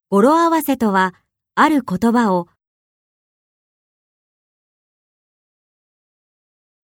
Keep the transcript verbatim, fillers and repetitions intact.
語呂合わせとは、ある言葉を